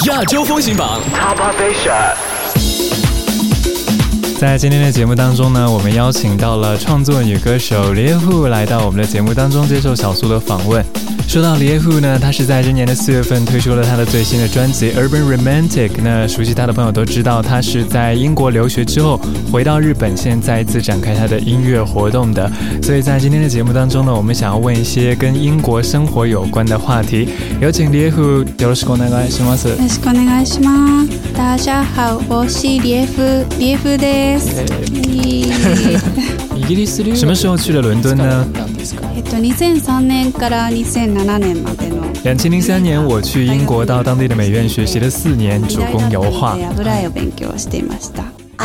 亚洲风行榜 Top Asia。 在今天的节目当中呢，我们邀请到了创作女歌手李叶户来到我们的节目当中接受小苏的访问。说到李叶户呢，她是在今年的4月份推出了她的最新的专辑 Urban Romantic。那熟悉她的朋友都知道，她是在英国留学之后回到日本，现在再一次展开她的音乐活动的。所以在今天的节目当中呢，我们想要问一些跟英国生活有关的话题。有请李叶户，よろしくお願いします。 よろしくお願いします。大家好，我是李叶户です。 イギリス留学什么时候去了伦敦呢 ？2003年から2007年までの。 2003年我去英国到当地的美院学习了4年，主攻油画。 油を勉強していました。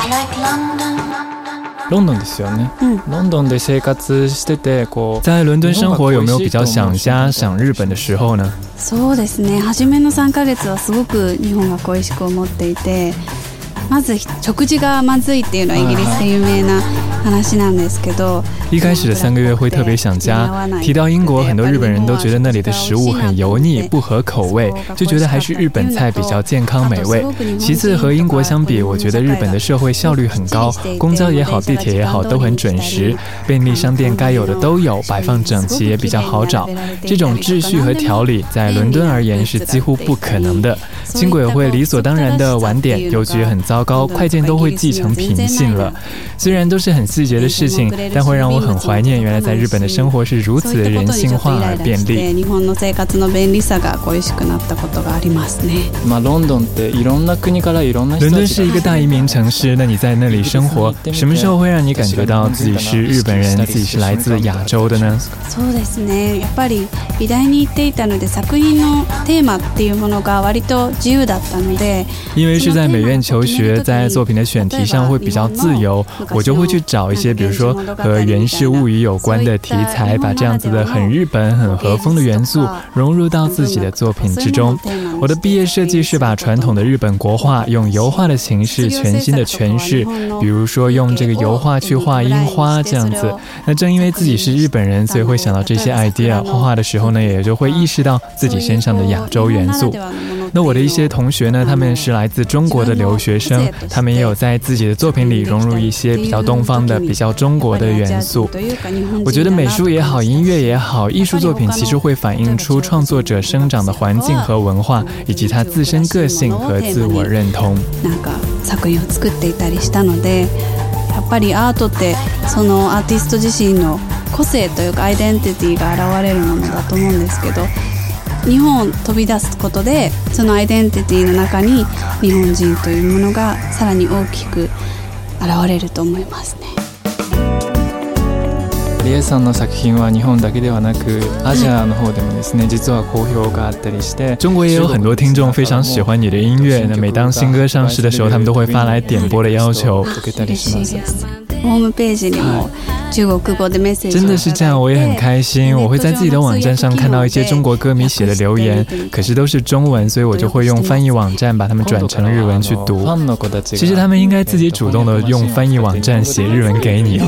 ロンドンですよね。ロンドンで生活してて在伦敦生活有没有比较想家想日本的时候呢？ そうですね。初めの3ヶ月はすごく日本が恋しく思っていて。まず食事がまずいっていうのはイギリスで有名な話なんですけど， 一开始的3个月会特别想家。提到英国，很多日本人都觉得那里的食物很油腻，不合口味，就觉得还是日本菜比较健康美味。其次和英国相比，我觉得日本的社会效率很高，公交也好，地铁也好，都很准时，便利商店该有的都有，摆放整齐也比较好找。这种秩序和条理在伦敦而言是几乎不可能的。轻轨会理所当然的晚点，邮局很糟糕，快件都会寄成平信了。虽然都是很细节的事情，但会让我很怀念原来在日本的生活是如此的人性化而便利。 日本の生活の便利さが恋しくなったことがありますね。 ロンドンっていろんな国からいろんな人。伦敦是一个大移民城市，那你在那里生活，什么时候会让你感觉到自己是日本人，自己是来自亚洲的呢？ そうですね。やっぱり美大に行っていたので、作品のテーマっていうものが割と自由だったので。 因为是在美院求学，在作品的选题上会比较自由，我就会去找一些比如说和源氏物语有关的题材，把这样子的很日本很和风的元素融入到自己的作品之中。我的毕业设计是把传统的日本国画用油画的形式全新的诠释，比如说用这个油画去画樱花这样子。那正因为自己是日本人，所以会想到这些 idea， 画画的时候呢，也就会意识到自己身上的亚洲元素。那我的一些同学呢，他们是来自中国的留学生，他们也有在自己的作品里融入一些比较东方的、比较中国的元素。我觉得美术也好，音乐也好，艺术作品其实会反映出创作者生长的环境和文化，以及他自身个性和自我认同。 作品を作っていたりしたので、やっぱりアートってそのアーティスト自身の個性というかアイデンティティが現れるものだと思うんですけど。日本を飛び出すことでそのアイデンティティの中に日本人というものがさらに大きく現れると思いますね。 李叶さんの作品は日本だけではなくアジアの方でもですね、実は好評があったりして、中国也有很多听众非常喜欢你的音乐。那每当新歌上市的时候，他们都会发来点播的要求。 ホームページにも中国語でメッセージ。 真的是这样，我也很开心。我会在自己的网站上看到一些中国歌迷写的留言，可是都是中文，所以我就会用翻译网站把它们转成日文去读。其实他们应该自己主动的用翻译网站写日文给你哦。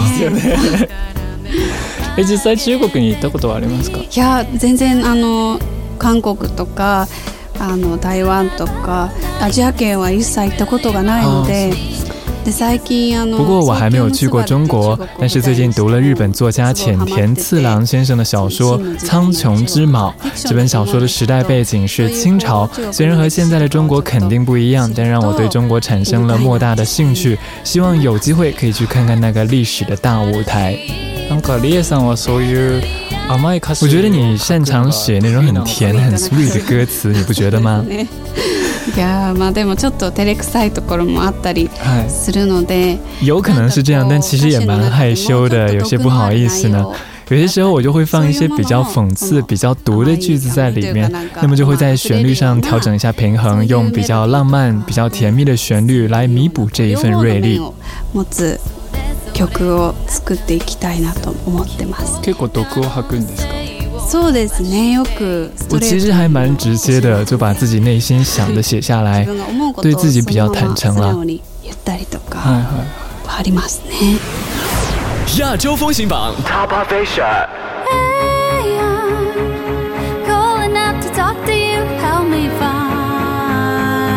実際中国に行ったことはありますか？ いや全然韓国とか台湾とかアジア圏は一切行ったことがないので。 不过我还没有去过中国，但是最近读了日本作家浅田次郎先生的小说《苍穹之卯》。这本小说的时代背景是清朝，虽然和现在的中国肯定不一样，但让我对中国产生了莫大的兴趣，希望有机会可以去看看那个历史的大舞台。なんか李叶さんはそういう甘い歌詞。我觉得你擅长写那种很甜很 sweet 的歌词，你不觉得吗？ いやまあでもちょっと照れくさいところもあったりするので、 有可能是这样，但其实也蛮害羞的，有些不好意思呢。有些时候我就会放一些比较讽刺、比较毒的句子在里面，那么就会在旋律上调整一下平衡，用比较浪漫、比较甜蜜的旋律来弥补这一份锐利。 曲を作っていきたいなと思ってます。 結構毒を吐くんですか？ そうですね。よく我其实还蛮直接的，就把自己内心想的写下来，对自己比较坦诚了。 言ったりとかありますね。 亚洲风行榜 Top of Asia。 Calling out to talk to you, help me find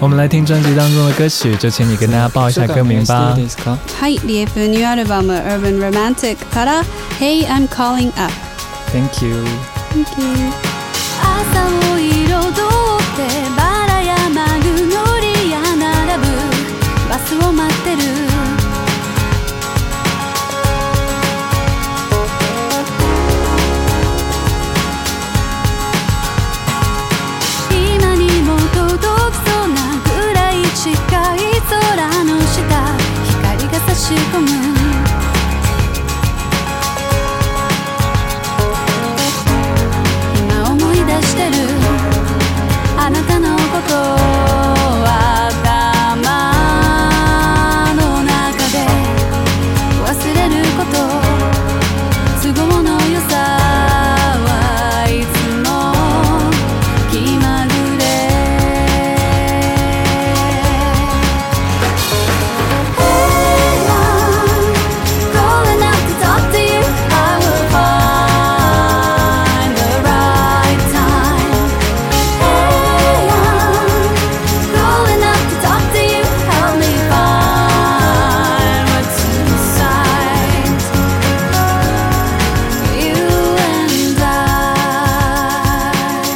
我们来听专辑当中的歌曲，就请你跟大家报一下歌名吧。 はい、リエプニューアルバム Urban Romantic から Hey I'm Calling Up。 Thank you。 Thank you。 朝を彩ってバラやマグノリア並ぶバスを待ってる今にも届きそうなぐらい近い空の下光が差し込む今思い出してるあなたのことは頭の中で忘れること都合の良さはいつも気まぐれ Hey I'm calling out to talk to you I will find the right time Hey I'm calling out to talk to you help me find what's inside you and I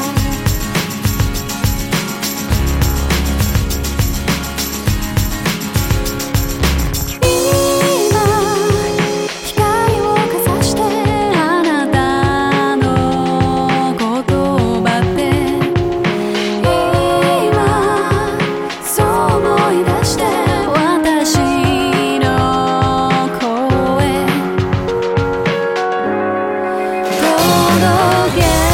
今光をかざしてあなたの言葉って今そう思い出して私の声届け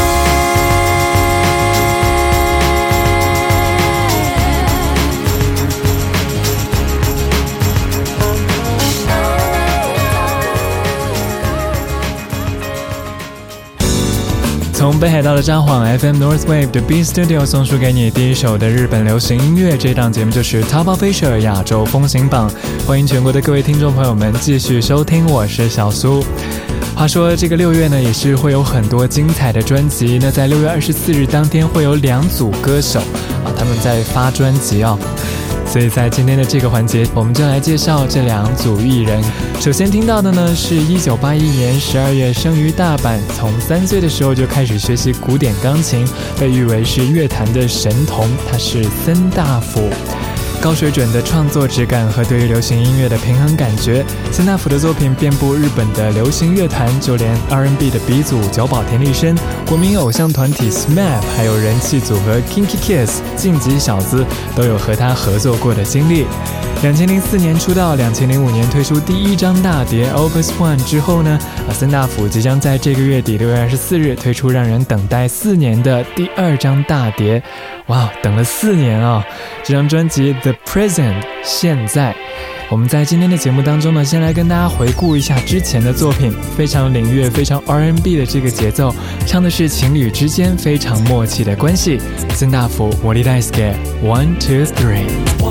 从北海道的札幌 FM Northwave 的 B Studio 送出给你第一首的日本流行音乐，这档节目就是 Top of Asia 亚洲风行榜，欢迎全国的各位听众朋友们继续收听，我是小苏。话说这个6月呢也是会有很多精彩的专辑，那在6月24日当天会有2组歌手他们在发专辑所以在今天的这个环节我们就来介绍这2组艺人。首先听到的呢是1981年12月生于大阪，从3岁的时候就开始学习古典钢琴，被誉为是乐坛的神童，他是森大辅。高水准的创作质感和对于流行音乐的平衡感觉，森大辅的作品遍布日本的流行乐坛，就连 R&B 的鼻祖久保田利伸、国民偶像团体 SMAP 还有人气组合 Kinky Kids 晋级小子都有和他合作过的经历。2004年出道，2005年推出第1张大碟 Opus One 之后呢，森大辅即将在这个月底6月24日推出让人等待4年的第2张大碟。哇，等了4年这张专辑 The Present 现在。我们在今天的节目当中呢，先来跟大家回顾一下之前的作品，非常领乐非常 R&B 的这个节奏，唱的是情侣之間非常默契的关系。森大辅森大輔 1, 2, 3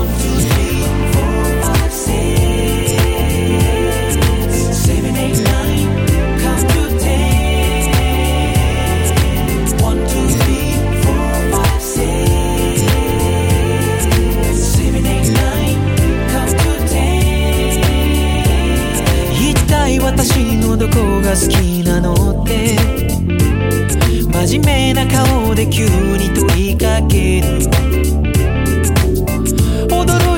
私のどこが好きなのって真面目な顔で急に問いかける驚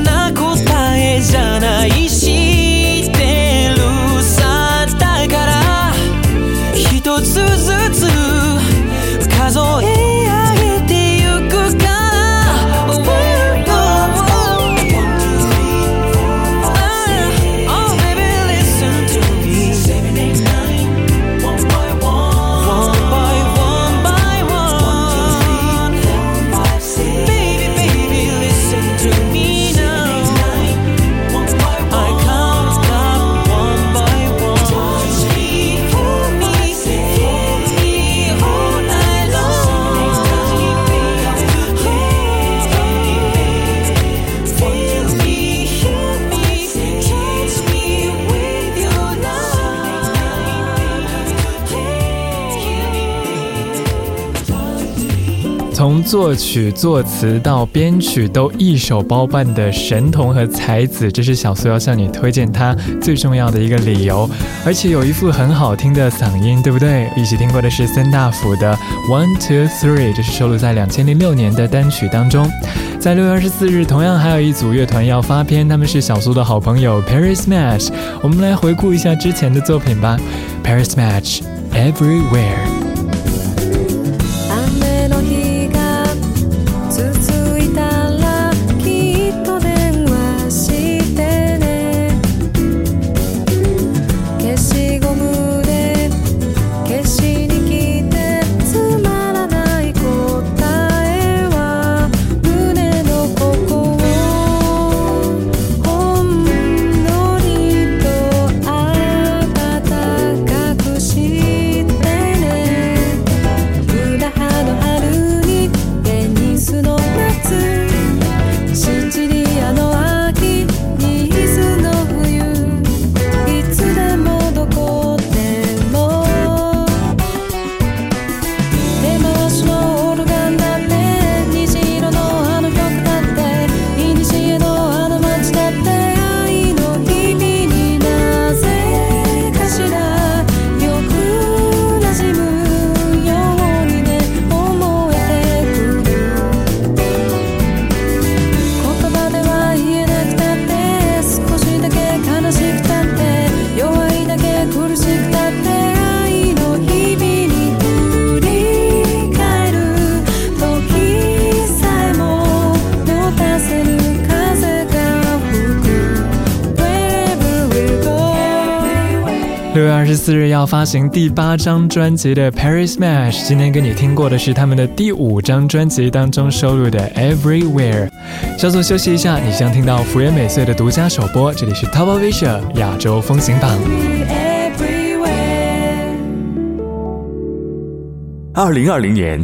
な答えじゃない知ってるさだから一つずつ数え上げてゆくから从作曲作词到编曲都一手包办的神童和才子，这是小苏要向你推荐他最重要的一个理由。而且有一副很好听的嗓音，对不对？一起听过的是森大辅的 One Two Three， 这是收录在2006年的单曲当中。在6月24日，同样还有一组乐团要发片，他们是小苏的好朋友 Paris Match。我们来回顾一下之前的作品吧。 Paris Match Everywhere。6月24日要发行第8张专辑的 Paris Match， 今天跟你听过的是他们的第5张专辑当中收录的 Everywhere。 稍作休息一下，你将听到福原美穗的独家首播，这里是 Top of Asia 亚洲风行榜。 2020年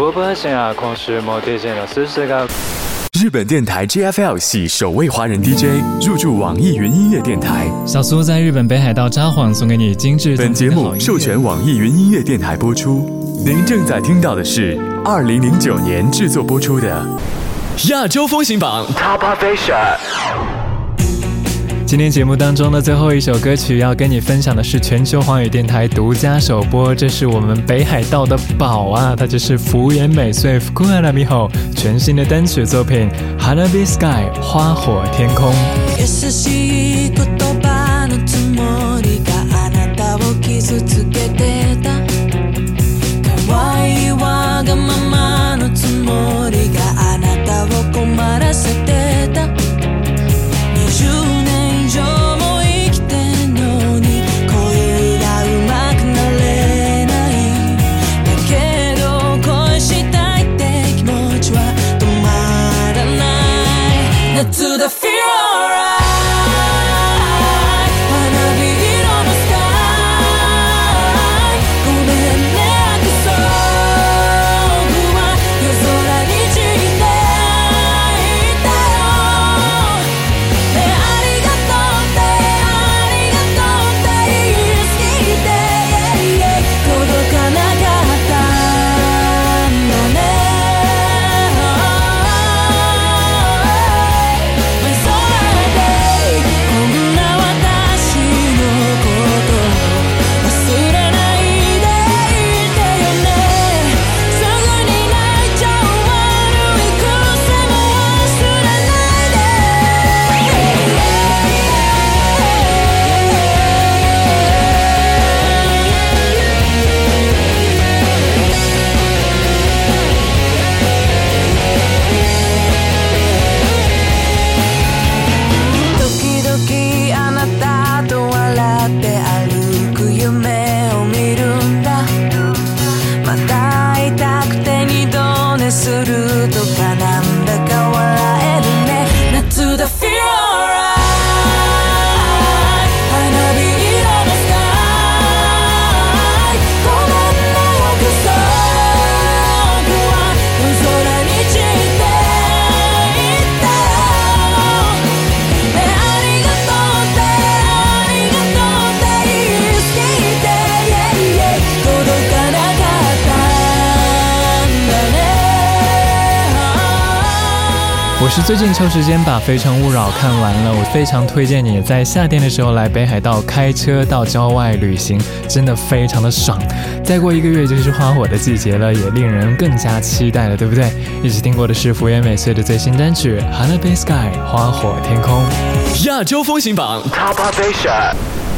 日本电台 JFL 系首位华人 DJ 入驻网易云音乐电台。 小苏在日本北海道札幌送给你精致。 本节目授权网易云音乐电台播出。您正在听到的是2009年制作播出的亚洲风行榜 Top of Asia。 今天节目当中的最后一首歌曲要跟你分享的是全球华语电台独家首播，这是我们北海道的宝啊，它就是福原美穗福原美穂全新的单曲作品 Hanabi Sky 花火天空。 優しい言葉のつもりがあなたを傷つけてた可愛いわがままのつもりがあなたを困らせてた20年以上も生きてんのに恋がうまくなれないだけど恋したいって気持ちは止まらない夏だ feel alright「 我是最近抽时间把《非诚勿扰》看完了，我非常推荐你在夏天的时候来北海道开车到郊外旅行，真的非常的爽。再过1个月就是花火的季节了，也令人更加期待了，对不对？一起听过的是福原美穗的最新单曲《Hanabi Sky》花火天空。 亚洲风行榜 Top Asia。